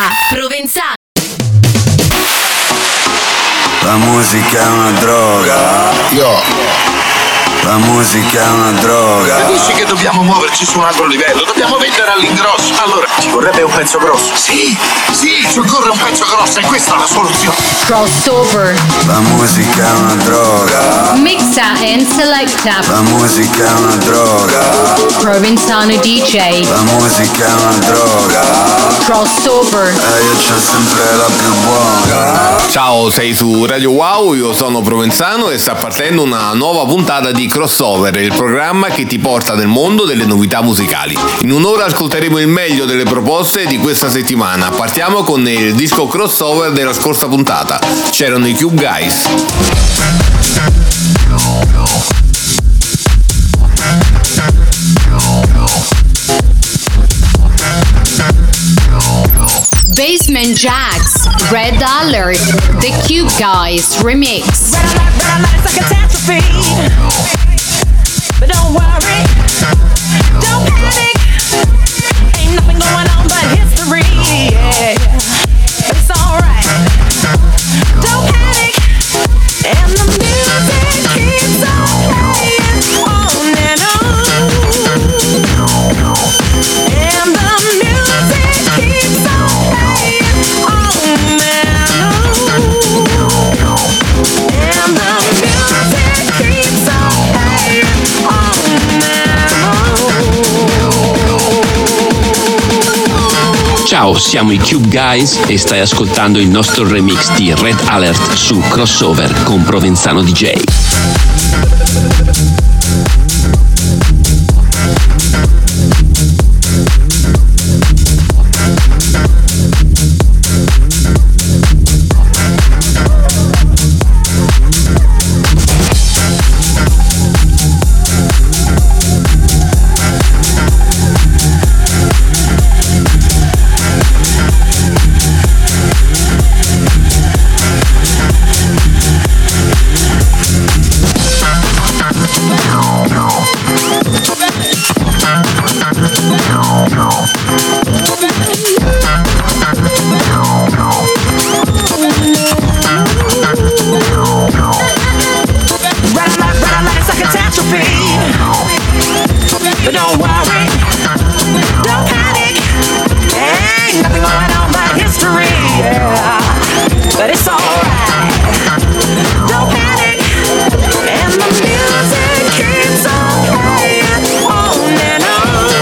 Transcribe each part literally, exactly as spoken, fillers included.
Provenzano. La musica è una droga. Yo. La musica è una droga. Capisci che dobbiamo muoverci su un altro livello? Dobbiamo vendere all'ingrosso. Allora, ci vorrebbe un pezzo grosso. Sì, sì, ci occorre un pezzo grosso e questa è la soluzione. Crossover. La musica è una droga. Mixa and selecta. La musica è una droga. Provenzano D J. La musica è una droga. Crossover. E io c'ho sempre la più buona. Ciao, sei su Radio Wow, io sono Provenzano e sta partendo una nuova puntata di Crossover, il programma che ti porta nel mondo delle novità musicali. In un'ora ascolteremo il meglio delle proposte di questa settimana. Partiamo con il disco crossover della scorsa puntata. C'erano i Cube Guys. Basement Jaxx, Red Alert, The Cube Guys remix. Red alert, red alert, it's a catastrophe. But don't worry, don't panic. Ain't nothing going on but history. Yeah, but it's alright. Don't panic, and the music keeps on playing on and on. And the music keeps on playing on and on. And the music keeps on playing on and on. Ciao, siamo i Cube Guys e stai ascoltando il nostro remix di Red Alert su Crossover con Provenzano D J. But don't worry, don't panic. Ain't nothing going on but history. Yeah, but it's alright. Don't panic, and the music keeps on playing on and on.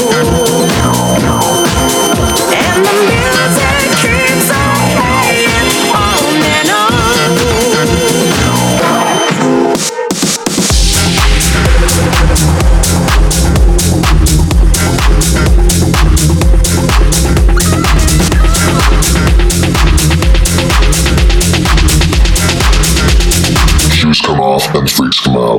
And the music keeps on playing on and on. Come off and freaks come out.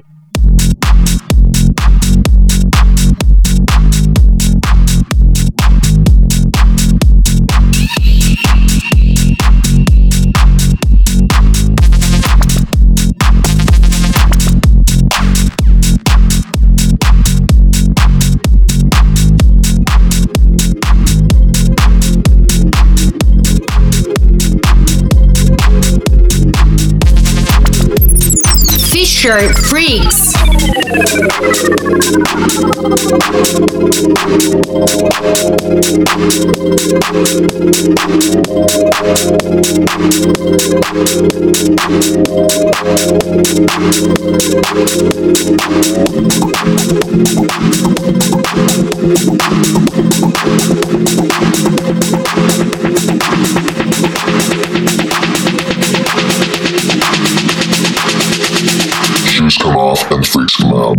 Fisher Freaks. Shoes come off and freaks come out.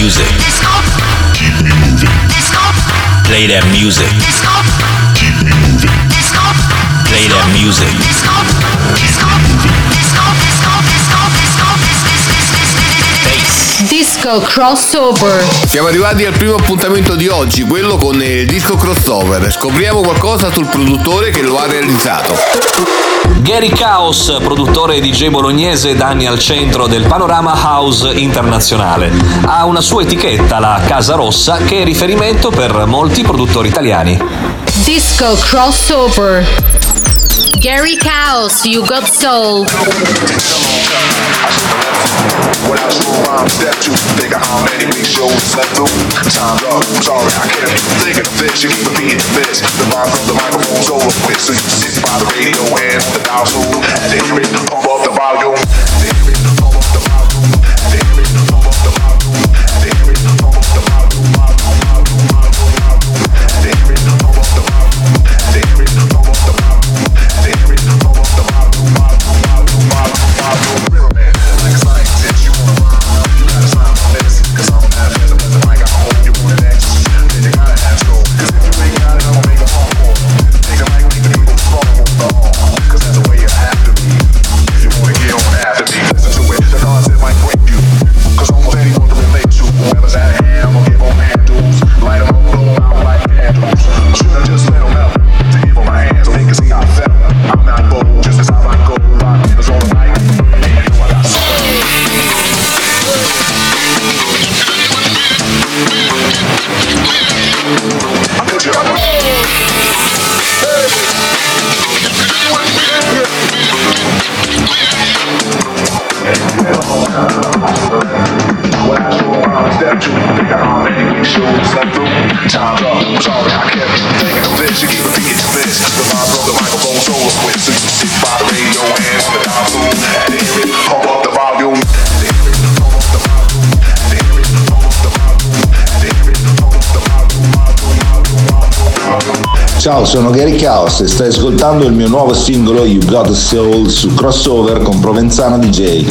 music. Play that music. Play that music. Disco Crossover. Siamo arrivati al primo appuntamento di oggi, quello con il disco crossover. Scopriamo qualcosa sul produttore che lo ha realizzato. Gary Chaos, produttore e D J bolognese da anni al centro del panorama house internazionale. Ha una sua etichetta, la Casa Rossa, che è riferimento per molti produttori italiani. Disco Crossover. Gary Chaos, You Got Soul. When I just around step two, think of how many big shows slept through. Time's up, I'm sorry, I can't keep thinking of this. You keep repeating this. The vibe from the microphone's over with. So you sit by the radio and the dial soon. And they hear it, pump up the volume. They hear it, pump up the volume. They hear it, pump up the volume. They hear it, pump up the volume. They hear it, pump up the volume. They hear it, pump up the volume. They hear it, pump up the volume. Real man, like a scientist, you wanna rhyme, you gotta sign on this. Cause I'm that better, better, like I hope you want an X. Then you gotta have soul. Cause if you ain't got it, I'll make a phone call. Take a mic, make the people strong, cause that's the way you have to be. If you wanna get on after me, listen to it. The concept might break you. Cause almost anyone can relate to whoever's at hand. I'ma give them handles. Light them up, blow them out like candles. Should've just let them out. To give them my hands so they can see how I felt. I'm not bold, just as how I go. Rock niggas on the mic. Time's up, I'm sorry, I kept thinking of this. You keep repeating this. The vibe from the microphone solo quit. So you can sit by the radio and the dial soon. And they hear it, pump up the volume. They hear it, pump up the volume. They hear it, pump up the volume. They hear it, pump up the volume. Ciao, sono Gary Chaos e stai ascoltando il mio nuovo singolo You Got a Soul su Crossover con Provenzano D J.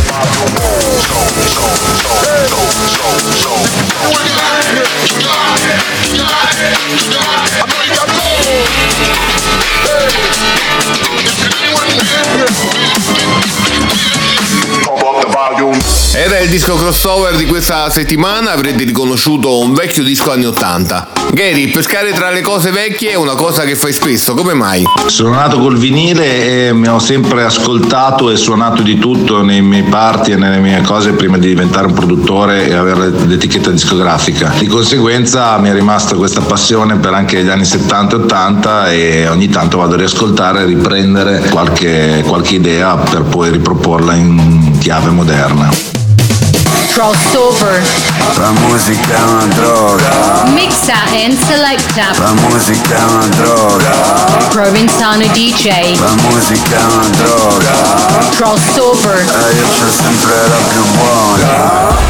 Era il disco crossover di questa settimana, avrete riconosciuto un vecchio disco anni ottanta. Gary, pescare tra le cose vecchie è una cosa che fai spesso, come mai? Sono nato col vinile e mi ho sempre ascoltato e suonato di tutto nei miei party e nelle mie cose prima di diventare un produttore e avere l'etichetta discografica. Di conseguenza mi è rimasta questa passione per anche gli anni settanta e ottanta e ogni tanto vado a riascoltare e riprendere qualche, qualche idea per poi riproporla in chiave moderna. Crossover. La musica è una droga. Mixa and selecta. La musica è una droga. Provenzano D J. La musica è una droga. Crossover. E io c'ho sempre la più buona.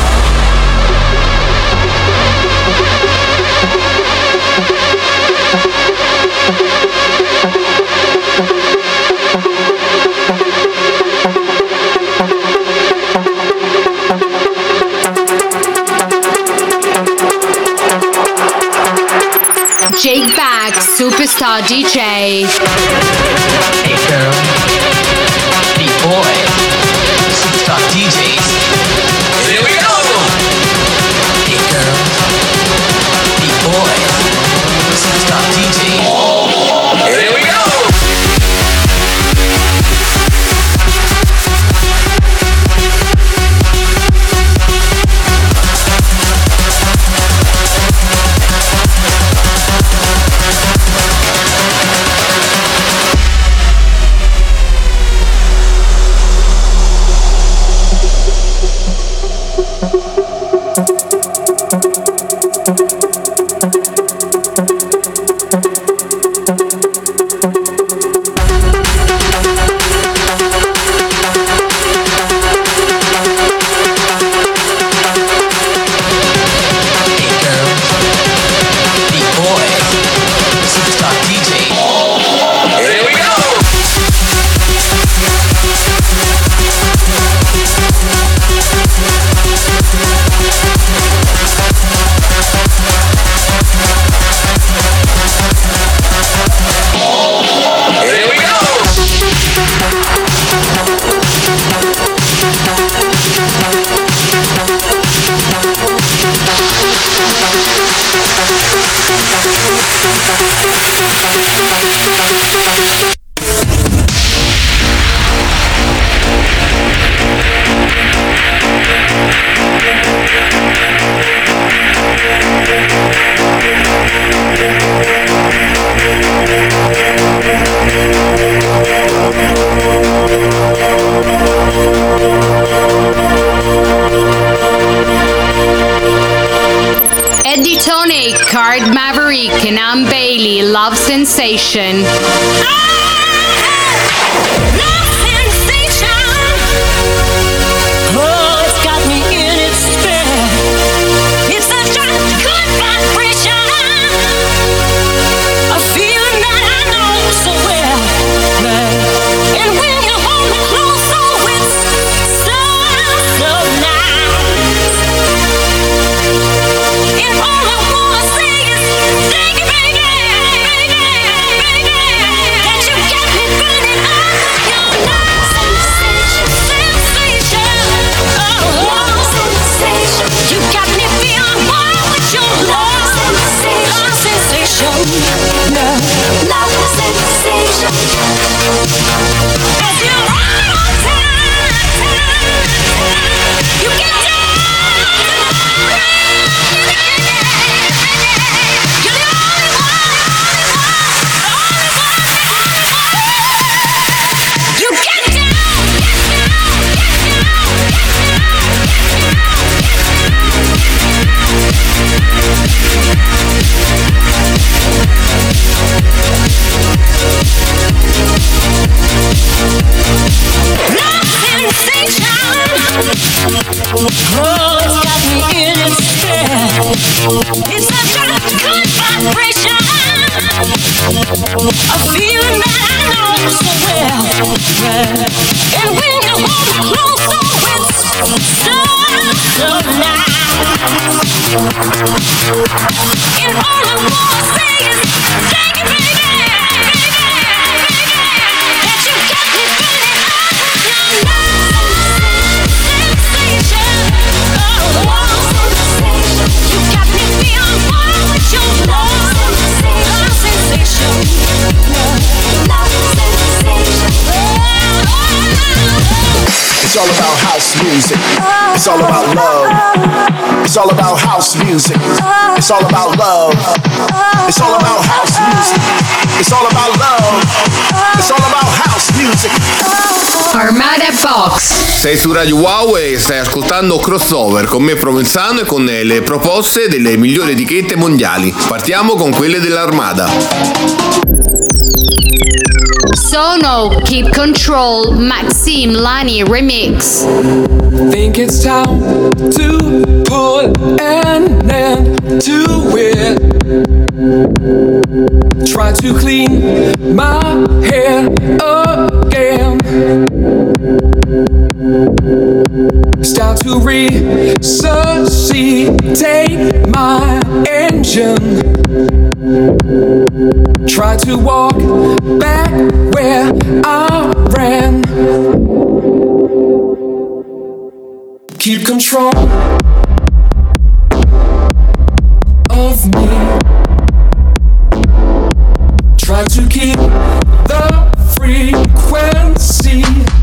Jake Back, Superstar D J. Hey girl, hey boy, Superstar D Js. Here we go. Hey girl, hey boy, Superstar D Js. Here we go. Tonic, Card Maverick, and Ann Bailey, Love Sensation. It's all about house music. It's all about love. It's all about house music. It's all about love. It's all about house music. It's all about love. It's all about house music. Armada Box. Sei su Radio Wow e stai ascoltando Crossover con me Provenzano e con le proposte delle migliori etichette mondiali. Partiamo con quelle dell'Armada. Sono, Keep Control, Maxime Lani Remix. Think it's time to put an end to it. Try to clean my hair again. Start to resuscitate my engine. Try to walk back where I ran. Keep control of me. Try to keep the frequency.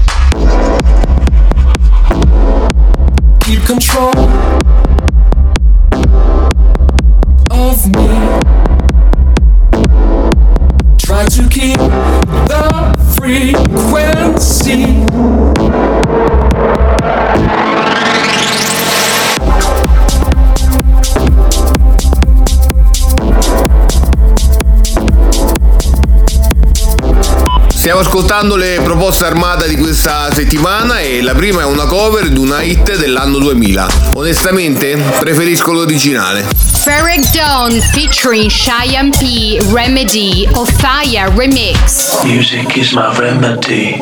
Keep control of me. Try to keep the frequency. Stiamo ascoltando le proposte Armada di questa settimana e la prima è una cover di una hit dell'anno duemila. Onestamente preferisco l'originale. Ferric Dawn featuring Cheyenne P, Remedy, Ofaya Remix. Music is my remedy.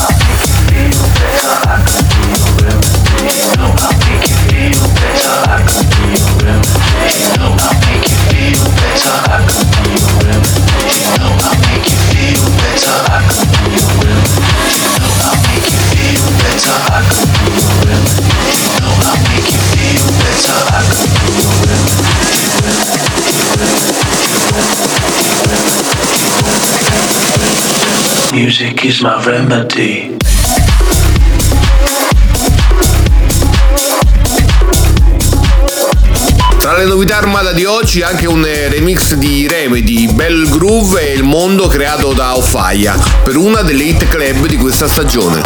Music is my remedy. Tra le novità Armada di oggi anche un remix di Remedy, Bell Groove e il mondo creato da Ofaya per una delle hit club di questa stagione.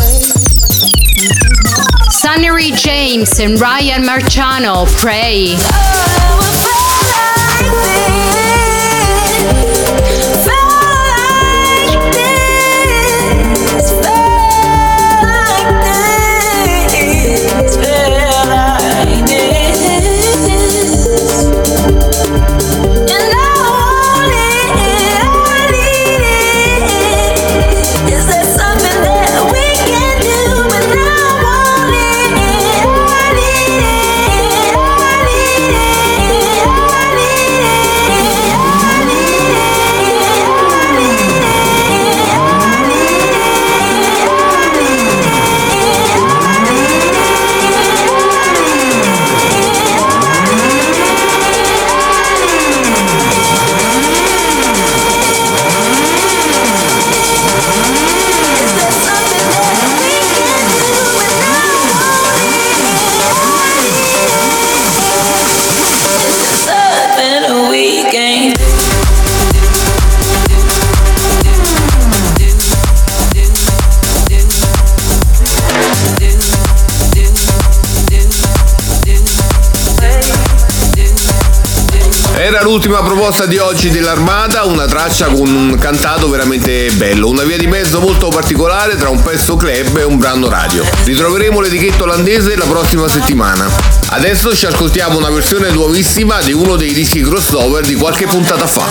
Sunnery James and Ryan Marciano, Pray. Era l'ultima proposta di oggi dell'Armada, una traccia con un cantato veramente bello, una via di mezzo molto particolare tra un pezzo club e un brano radio. Ritroveremo l'etichetta olandese la prossima settimana. Adesso ci ascoltiamo una versione nuovissima di uno dei dischi crossover di qualche puntata fa.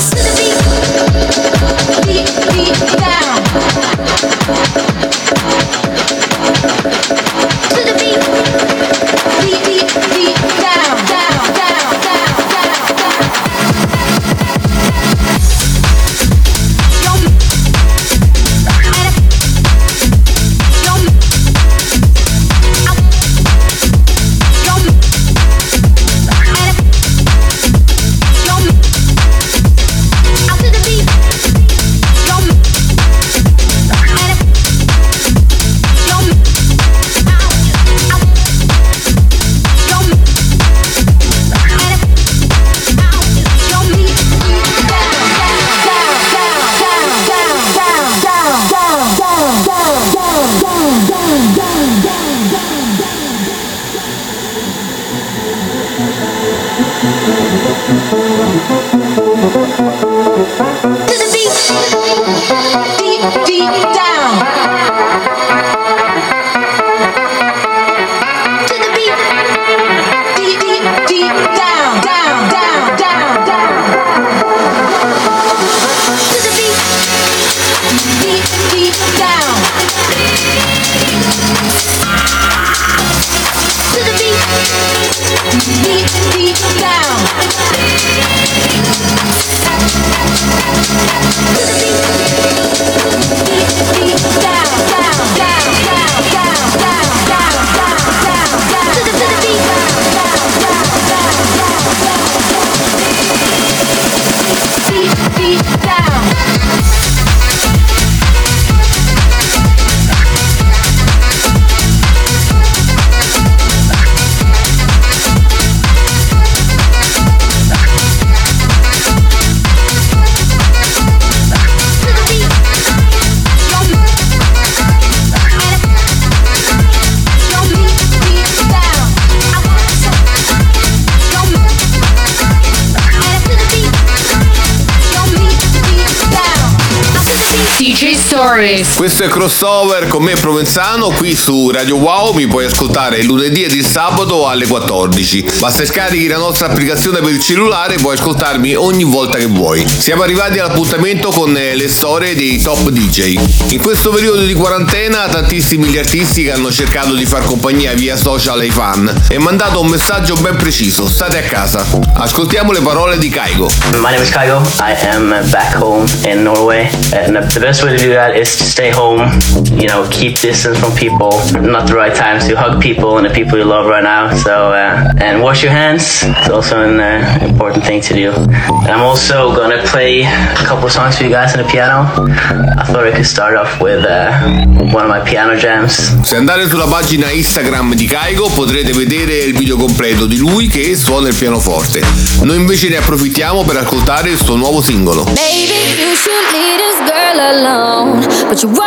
Questo è Crossover con me Provenzano qui su Radio Wow. Mi puoi ascoltare il lunedì ed il sabato alle quattordici. Basta scarichi la nostra applicazione per il cellulare e puoi ascoltarmi ogni volta che vuoi. Siamo arrivati all'appuntamento con le storie dei top D J. In questo periodo di quarantena tantissimi gli artisti che hanno cercato di far compagnia via social ai fan e mandato un messaggio ben preciso: state a casa. Ascoltiamo le parole di Kygo. My name is Kygo. I am back home in Norway, and the best way to do that is to stay home, you know, keep distance from people. Not the right time to hug people and the people you love right now. So, uh, and wash your hands. It's also an uh, important thing to do. And I'm also gonna play a couple of songs for you guys on the piano. I thought I could start off with uh, one of my piano jams. Se andate sulla pagina Instagram di Kygo potrete vedere il video completo di lui che suona il pianoforte. Noi invece ne approfittiamo per ascoltare il suo nuovo singolo. Baby, you should leave this girl alone, but you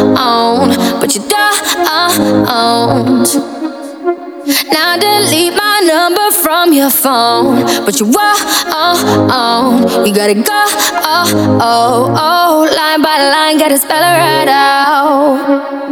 won't, but you don't. Now delete my my number from your phone, but you won't. You gotta go, oh, oh, oh, line by line, gotta spell it right out.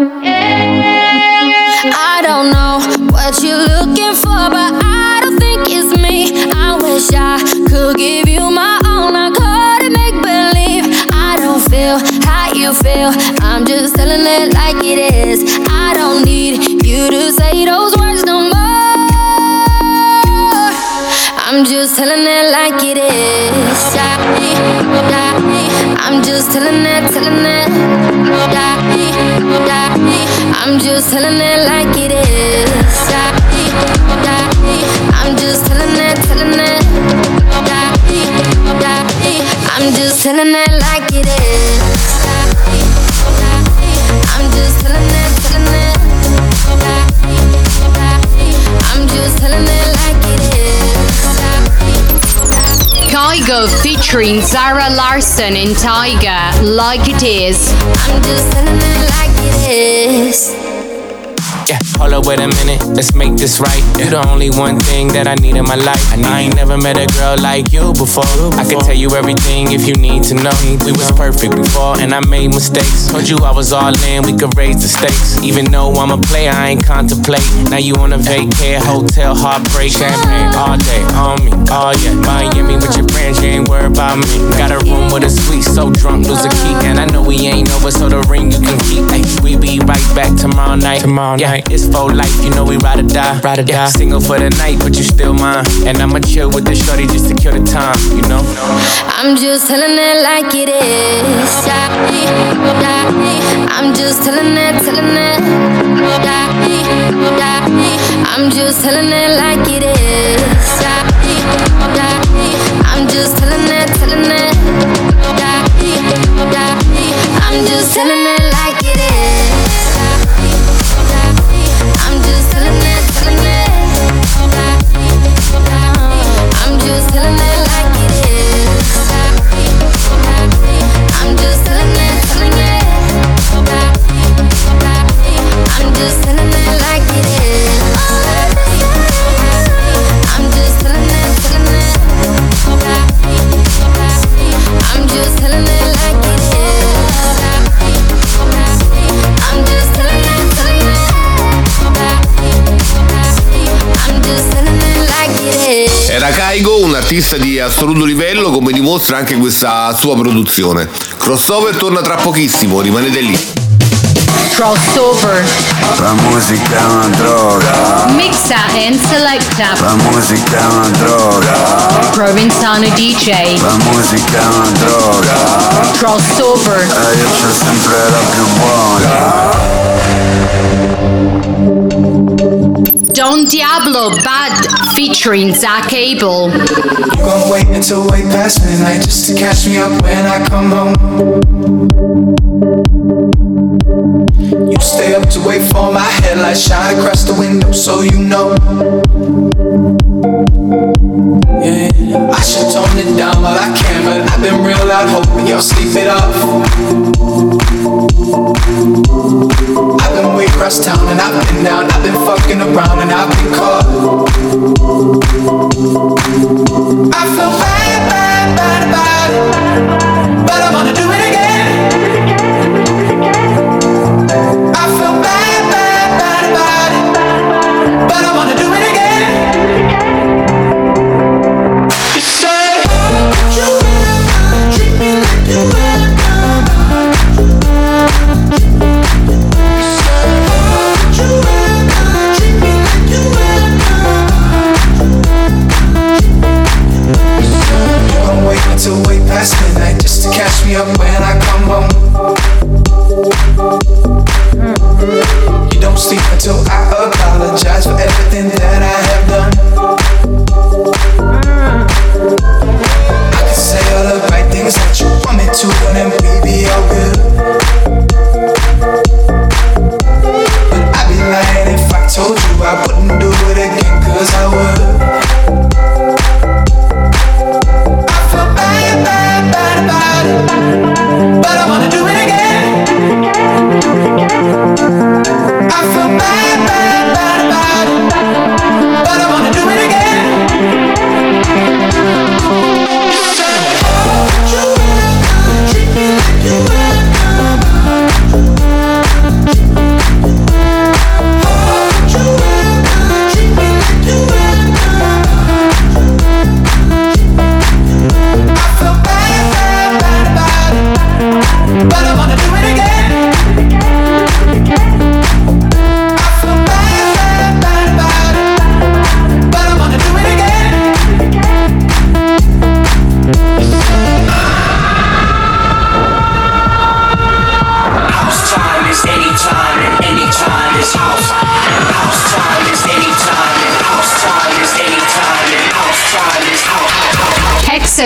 I don't know what you're looking for, but I don't think it's me. I wish I could give you my all, I couldn't make believe. I don't feel how you feel, I'm just telling it like it is. I don't need you to say those words no more, I'm just telling it like it is. I'm just telling it, telling it. I'm just telling it like it is. I'm just telling it, telling it. I'm just telling it like it is. I'm just telling it, telling it. I'm just telling it like it is. Kygo featuring Zara Larsson in Tiger, Like It Is. I'm just telling it like it is. Yeah, hold up, wait a minute, let's make this right. You're the only one thing that I need in my life. I ain't never met a girl like you before. I can tell you everything if you need to know. We was perfect before and I made mistakes. Told you I was all in, we could raise the stakes. Even though I'm a player, I ain't contemplate. Now you on a vacay, hotel, heartbreak. Champagne all day, on me, oh yeah. Miami with your friends, you ain't worried about me. Got a room with a suite, so drunk, lose a key. And I know we ain't over, so the ring you can keep. Ay, we be right back tomorrow night. Tomorrow night. Yeah, it's for life, you know we ride or die. Ride or die. Yeah, single for the night, but you still mine. And I'ma chill with the shorty just to kill the time, you know. I'm just telling it like it is. I'm just telling it, telling it. I'm just telling it like it is. I'm just telling it, telling it. I'm just telling it like it is. I'm just telling it, telling it. I'm just telling it like it is. I'm just telling it, telling it. I'm just telling it like it is. I'm just telling it, telling it. I'm just telling it like it is. I'm just telling it, telling it. I'm just telling it like it is. Era Kygo, un artista di assoluto livello, come dimostra anche questa sua produzione. Crossover torna tra pochissimo, rimanete lì. Crossover. La musica è una droga. Mixer and selector. La musica è una droga. Provenzano D J. La musica è una droga. Crossover. E io c'ho sempre la più buona. Don Diablo Bad featuring Zach Abel. You gon' wait until way past midnight just to catch me up when I come home. You stay up to wait for my headlights shine across the window so you know. Yeah, I should tone it down while I can, but I've been real loud hoping y'all sleep it off. I've been way across town and I've been down, I've been fucking around and I've been caught. I feel bad, bad, bad about it, but I wanna do it again. I feel bad, bad, bad about it, but I wanna do it again. You say you will treat me like you will. You say you will treat me like you will.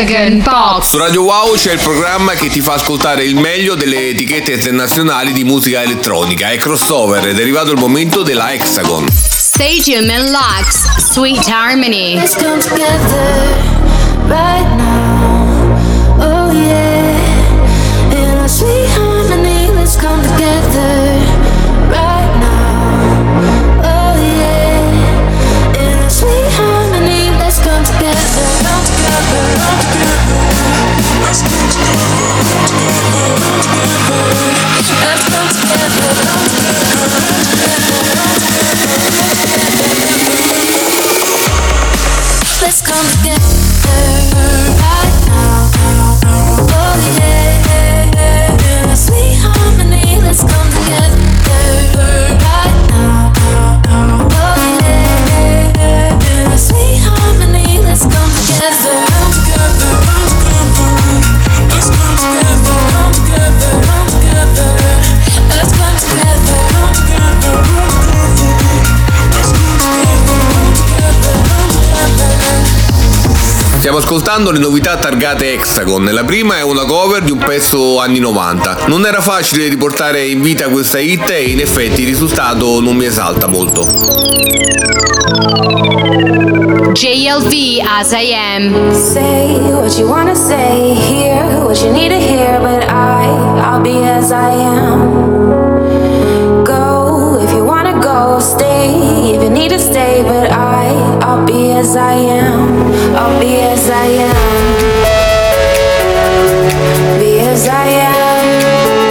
Hexagon Box. Su Radio Wow c'è il programma che ti fa ascoltare il meglio delle etichette internazionali di musica elettronica. È Crossover ed è arrivato il momento della Hexagon. Stadium and Lux, Sweet Harmony. Let's come together right now. Oh yeah. In a sweet harmony, let's come together right now. Oh yeah. In a sweet harmony, let's come together. Come together, come together. Let's come together, come together. Let's come together, come together, come together. Let's come together right now. Oh yeah. In a sweet harmony, let's come together right now. Oh yeah. In a sweet harmony, let's come together. Come together, come together. Let's come together, come together, come together. Let's come together, come together, come together. Let's come together, come together, come together. Stiamo ascoltando le novità targate Hexagon. La prima è una cover di un pezzo anni novanta. Non era facile riportare in vita questa hit e in effetti il risultato non mi esalta molto. J L V As I Am. Say what you wanna say, hear what you need to hear, but I, I'll be as I am. Go if you wanna go, stay if you need to stay, but I, I'll be as I am. I'll be as I am. Be as I am.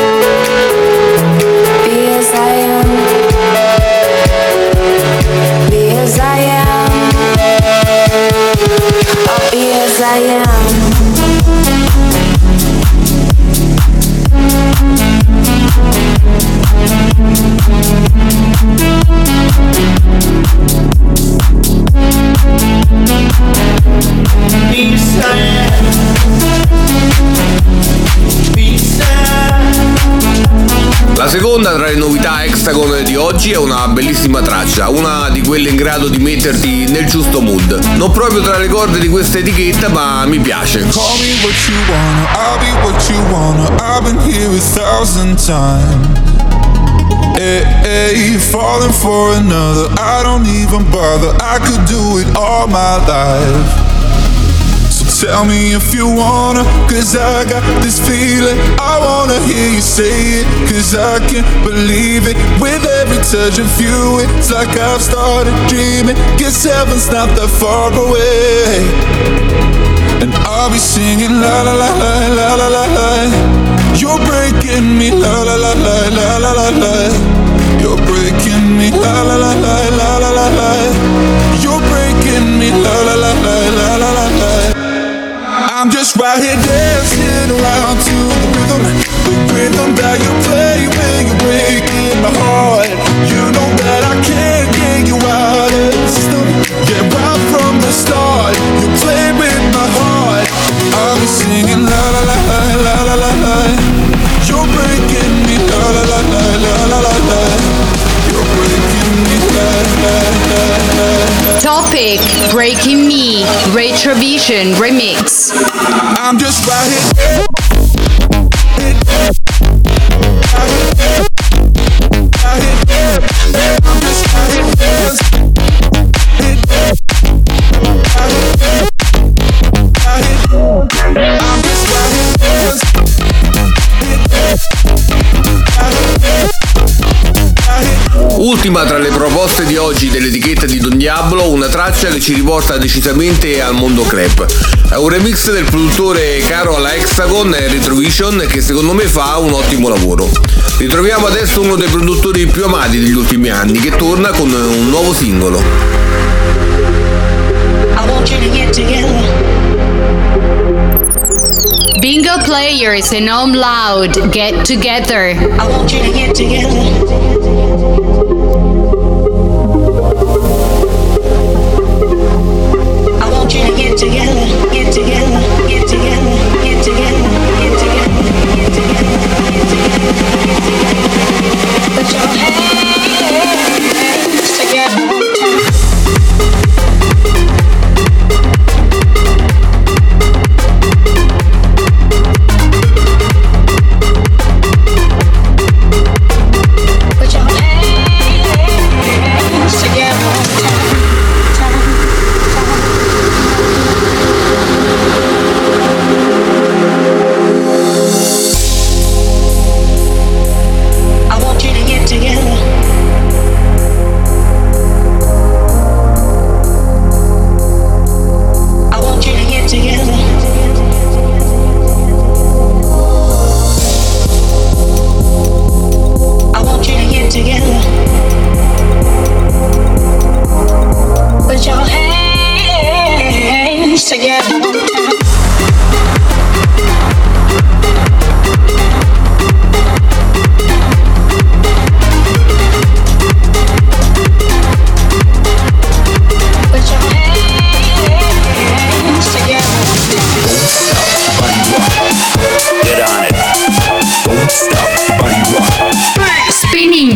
Be as I am. Be as I am. I'll be as I am. Be sad. Be sad. La seconda tra le novità Hexagon di oggi è una bellissima traccia, una di quelle in grado di metterti nel giusto mood. Non proprio tra le corde di questa etichetta, ma mi piace. Call me what you wanna, I'll be what you wanna. I've been here a thousand times. Hey, hey, falling for another, I don't even bother. I could do it all my life. So tell me if you wanna, cause I got this feeling. I wanna hear you say it, cause I can't believe it. With every touch of you, it's like I've started dreaming. Guess heaven's not that far away. And I'll be singing la la la la la la la la. You're breaking me la la la la la la la la. You're breaking me la la la la la la la la. You're breaking me la la la la la la la la. I'm just right here dancing around to the rhythm, the rhythm that you play when you're breaking my heart. You know that I can't get you out of the system. Yeah, right from the start, you play with my heart. I'll be singing la la la la la la la la. You're breaking me la la la la la la la la. You're breaking me la la la la la. Topic, Breaking Me, Retrovision Remix. I'm just right here. I'm just right here. I'm just Ultima tra le proposte di oggi dell'etichetta di Don Diablo, una traccia che ci riporta decisamente al mondo club. È un remix del produttore caro alla Hexagon, Retrovision, che secondo me fa un ottimo lavoro. Ritroviamo adesso uno dei produttori più amati degli ultimi anni, che torna con un nuovo singolo. I want you to get together. Bingo players and Home Loud, get together. I want you to get together. I want you to get together, get together, get together, get together, get together, get together, get together, get together. Put your hands together.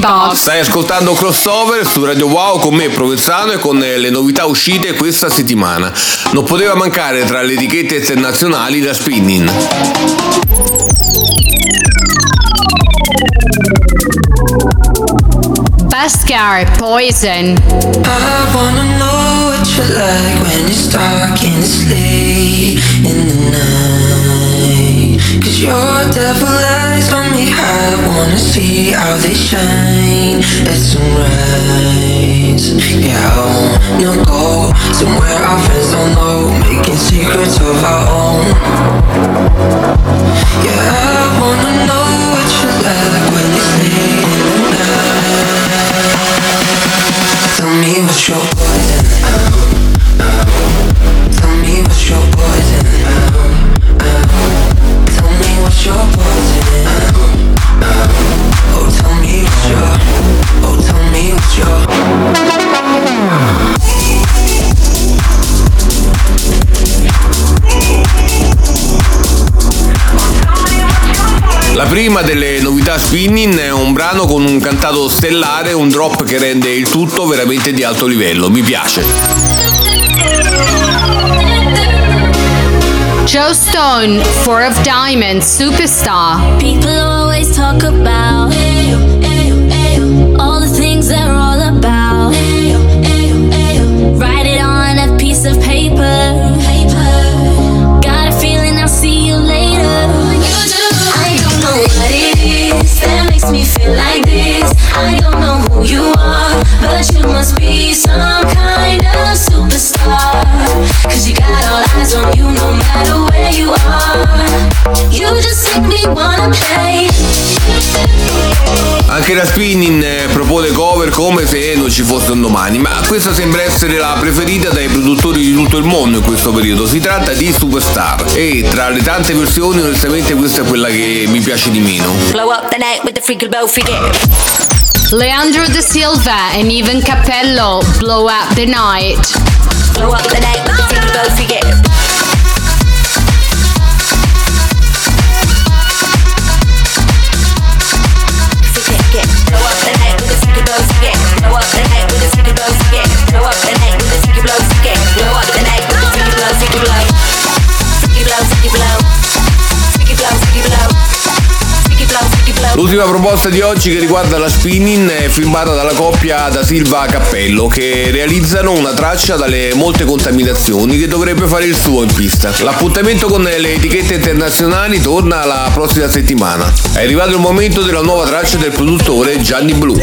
Box. Stai ascoltando Crossover su Radio Wow con me Provenzano e con le novità uscite questa settimana. Non poteva mancare tra le etichette internazionali la Spinnin'. Bhaskar, Poison. I wanna know what you're like when it's dark and it's late in the night. Cause your devil eyes on me, I wanna see how they shine at sunrise. Yeah, I wanna go somewhere our friends don't know, making secrets of our own. Yeah, I wanna know what you're like when it's late in the night. Tell me what's your poison. Tell me what's your poison. Tell me what's your poison. Oh, tell me what's your. Oh, tell me what's your. La prima delle novità Spinnin' è un brano con un cantato stellare, un drop che rende il tutto veramente di alto livello, mi piace. Joe Stone, Four of Diamonds, Superstar. People always talk about all the things they're all about. Write it on a piece of paper. Got a feeling I'll see you later. I don't know what it is that makes me feel like this. I don't know who you are, but you must be some kind of superstar. Cause you got all eyes on you no matter where you are. You just make me wanna play. Anche la Spinnin' propone cover come se non ci fosse un domani, ma questa sembra essere la preferita dai produttori di tutto il mondo in questo periodo. Si tratta di Superstar e tra le tante versioni onestamente questa è quella che mi piace di meno. Blow up the night with the freaky blow figure. Leandro Da Silva and Ivan Capello, Blow Up the Night. Blow up the night with the freaky blow figure. Blow up the night with the freaky blow figure. Blow up the night with the freaky blow figure. Blow up the night with the freaky blow figure. Blow up the night with the freaky blow freaky blow. Freaky blow freaky blow. Freaky blow freaky blow. Freaky blow freaky blow. L'ultima proposta di oggi che riguarda la Spinnin' è firmata dalla coppia Da Silva Cappello che realizzano una traccia dalle molte contaminazioni che dovrebbe fare il suo in pista. L'appuntamento con le etichette internazionali torna la prossima settimana. È arrivato il momento della nuova traccia del produttore Gianni Blu.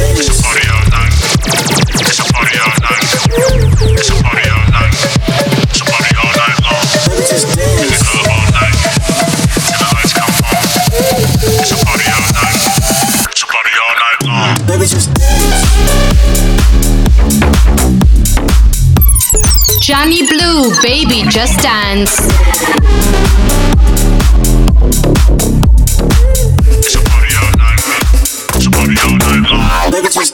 Gianni Blu, Baby Just Dance. Baby, just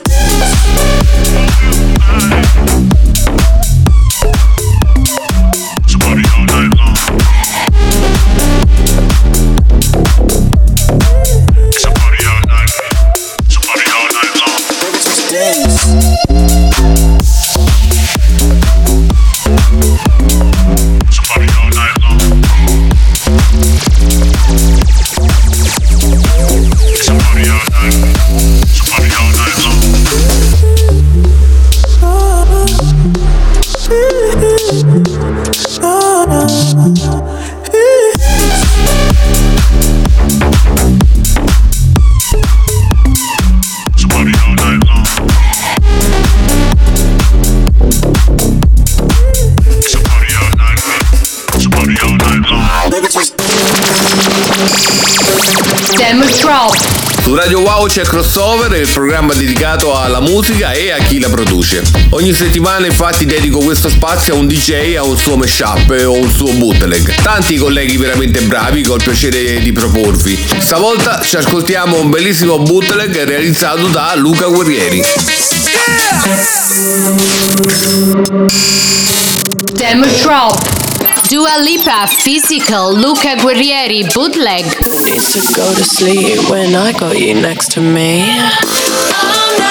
Su Radio Wow c'è Crossover, il programma dedicato alla musica e a chi la produce. Ogni settimana infatti dedico questo spazio a un D J, a un suo mashup o un suo bootleg. Tanti colleghi veramente bravi che ho il piacere di proporvi. Stavolta ci ascoltiamo un bellissimo bootleg realizzato da Luca Guerrieri. Demo Drop. Dua Lipa, Physical, Luca Guerrieri, bootleg. Who needs to go to sleep when I got you next to me? I'm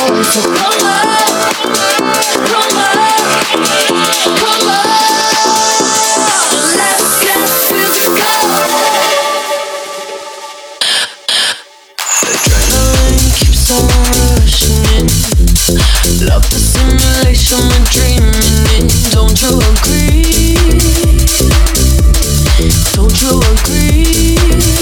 choice. So come on, come on, come on. Let's get physical. Adrenaline keeps on rushing in. Love the simulation we're dreaming in. Don't you agree? Don't you agree?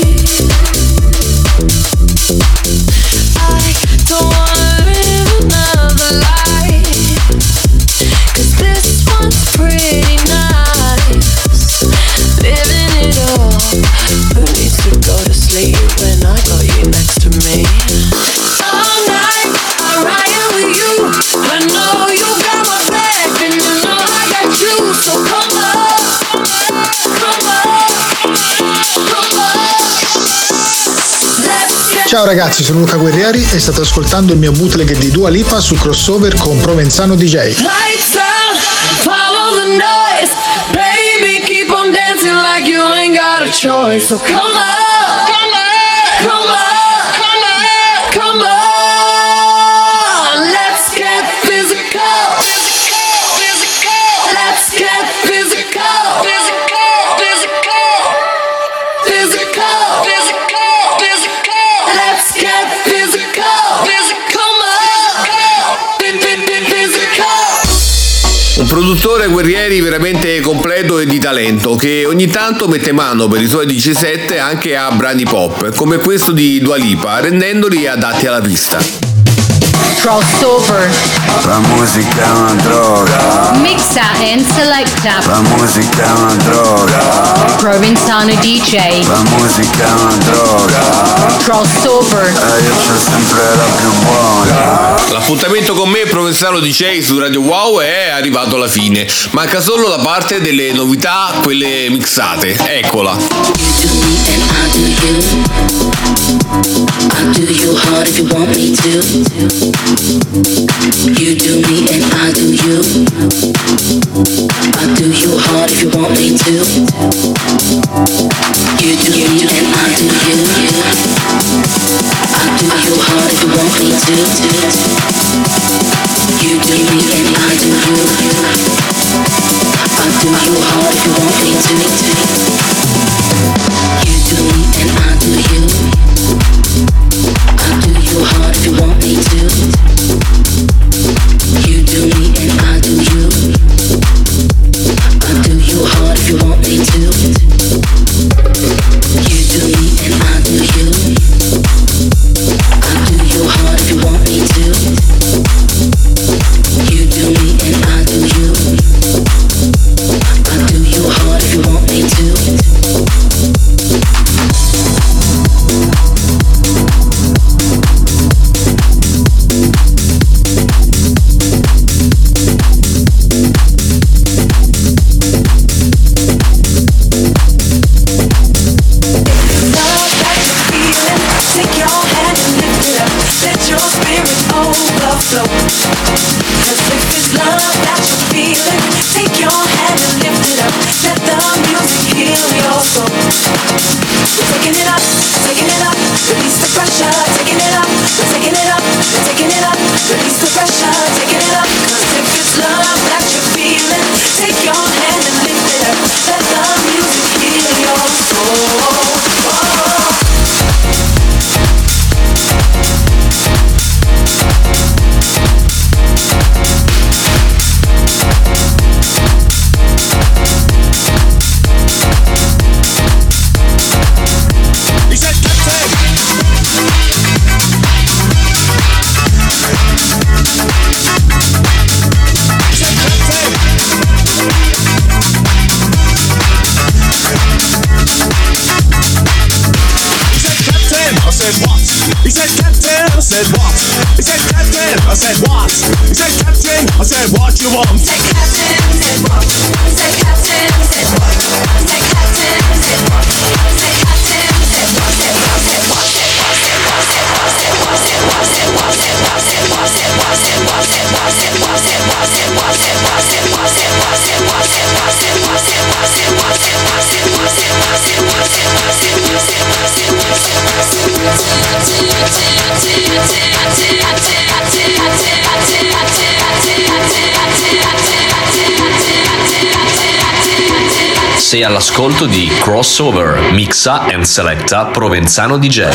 I don't wanna live another life, 'cause this one's pretty nice. Living it all. Who needs to go to sleep when I got you next to me? All night I ride with you. I know you got my back and you know I got you. So come on, come on, come on. Let's get. Ciao ragazzi, sono Luca Guerrieri e state ascoltando il mio bootleg di Dua Lipa su Crossover con Provenzano D J. Lights out, follow the noise. Baby, keep on dancing like you ain't got a choice. So come on, come on, come on, come on, come on. Let's get physical, physical, physical. Let's get physical, physical, physical, physical, physical, physical. Let's get physical, physical. Come on, physical. Un produttore Guerrieri veramente completo e di talento, che ogni tanto mette mano per i suoi D J set anche a brani pop, come questo di Dua Lipa, rendendoli adatti alla pista. Crossover. La musica è una droga. Mixa and selecta. La musica è una droga. Provenzano D J. La musica è una droga. Crossover. E io c'ho sempre la più buona. L'appuntamento con me, Provenzano D J su Radio Wow, è arrivato alla fine. Manca solo la parte delle novità, quelle mixate. Eccola. I'll do you hard if you want me to. You do me and I do you. I'll do you hard if you want me to. You do me and I do you. I'll do you hard if you want me to. You do me and I do you. I'll do you hard if you want me to. You do me and I do you. I'll do you hard if you want me to. You do me and I do you. I'll do you hard if you want me to. You do me and I do you. I'll do you hard if you want me to. You do me and I do you. I'll do you hard if you want me to. T Sei all'ascolto di Crossover, mixa and selecta Provenzano D J.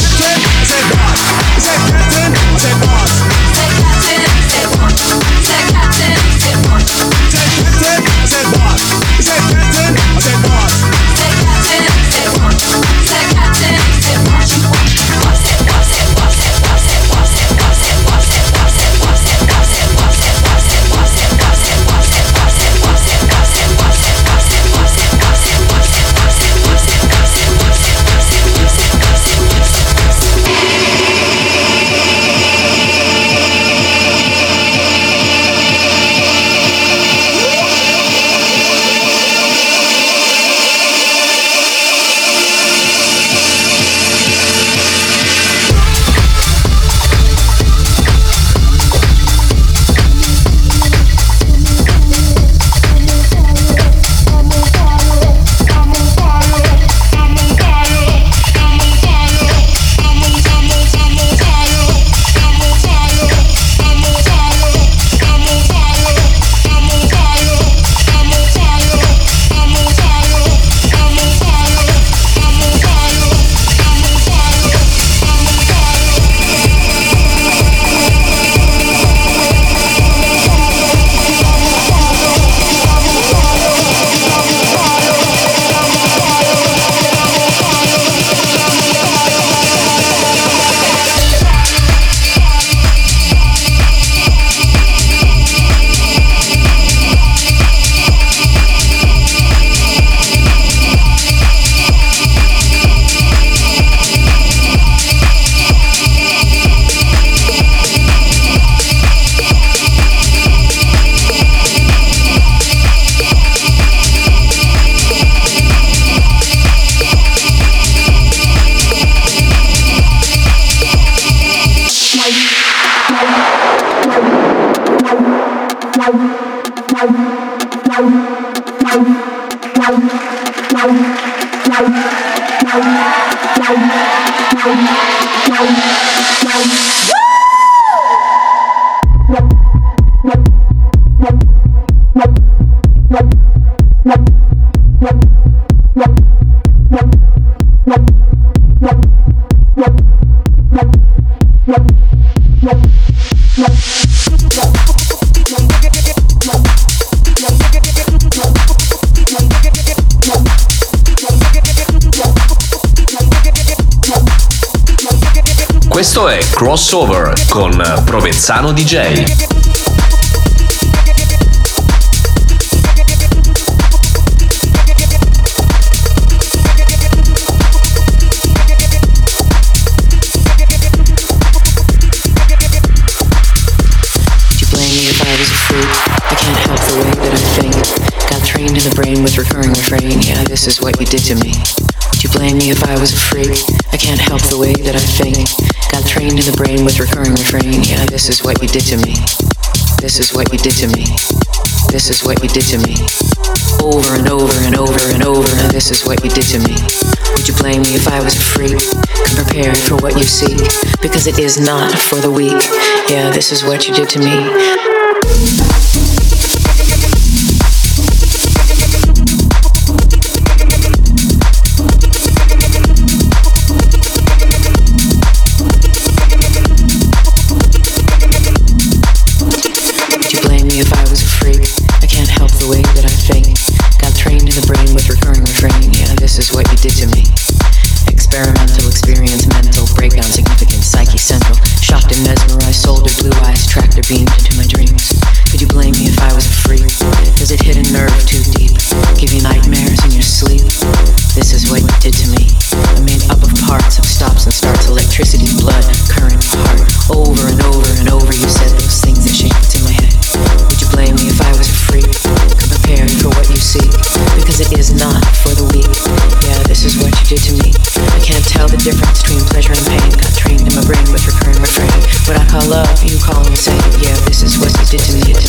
Questo è Crossover con Provenzano D J. Trained in the brain with recurring refrain. Yeah, this is what you did to me. Would you blame me if I was a freak? I can't help the way that I think. Got trained in the brain with recurring refrain. Yeah, this is what you did to me. This is what you did to me. This is what you did to me. Over and over and over and over. And this is what you did to me. Would you blame me if I was a freak? Come prepared for what you seek, because it is not for the weak. Yeah, this is what you did to me. If I was a freak, I can't help the way that I think. Got trained in the brain with recurring refrain. Yeah, this is what you did to me. Experimental experience, mental breakdown, significant, psyche central. Shocked and mesmerized, soldered blue eyes, tractor beamed into my dreams. Could you blame me if I was a freak? Does it hit a nerve too deep? Give you nightmares in your sleep? This is what you did to me. I made up of parts, of stops and starts, electricity, blood, current, heart. Over and over and over you said those things that shaped into my head. Would you blame me if I was a freak? Come prepared for what you seek, because it is not for the weak. Yeah, this is what you did to me. I can't tell the difference between pleasure and pain. Got trained in my brain with recurring refrain. What I call love, you call insane. Yeah, this is what you did to me.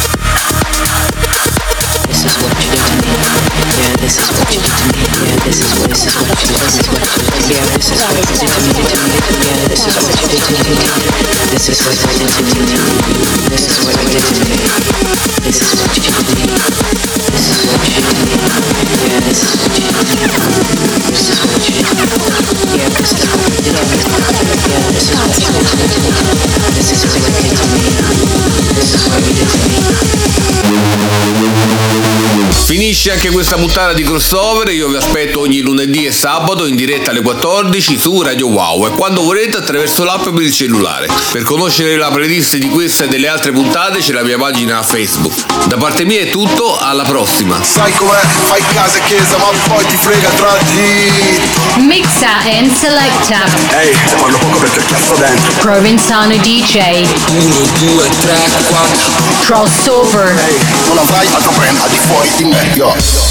This is what you did to me. Yeah, this is what you did to me. Yeah, this is This is what you did to me. Yeah, this is what you did to me. Yeah, this is what you did to me. This is what you did to me. This is what you did to me. This is what you did to me. This is what you did to me. Yeah, this is what you did to me. This is what you did to me. Yeah, this is what you did to me. Yeah, this is what you did to me. This is what you did to me. This is what you did to me. Finisce anche questa puntata di Crossover. Io vi aspetto ogni lunedì e sabato in diretta alle quattordici su Radio Wow e quando volete attraverso l'app per il cellulare. Per conoscere la playlist di questa e delle altre puntate c'è la mia pagina Facebook. Da parte mia è tutto, alla prossima. Sai com'è? Fai casa e chiesa ma poi ti frega tra di. Mixa and selecta. Ehi, te parlo poco perché ho chiasso dentro. Provenzano D J. uno, due, tre, quattro. Crossover. Ehi, non avrai altro brand al di fuori di me, yo.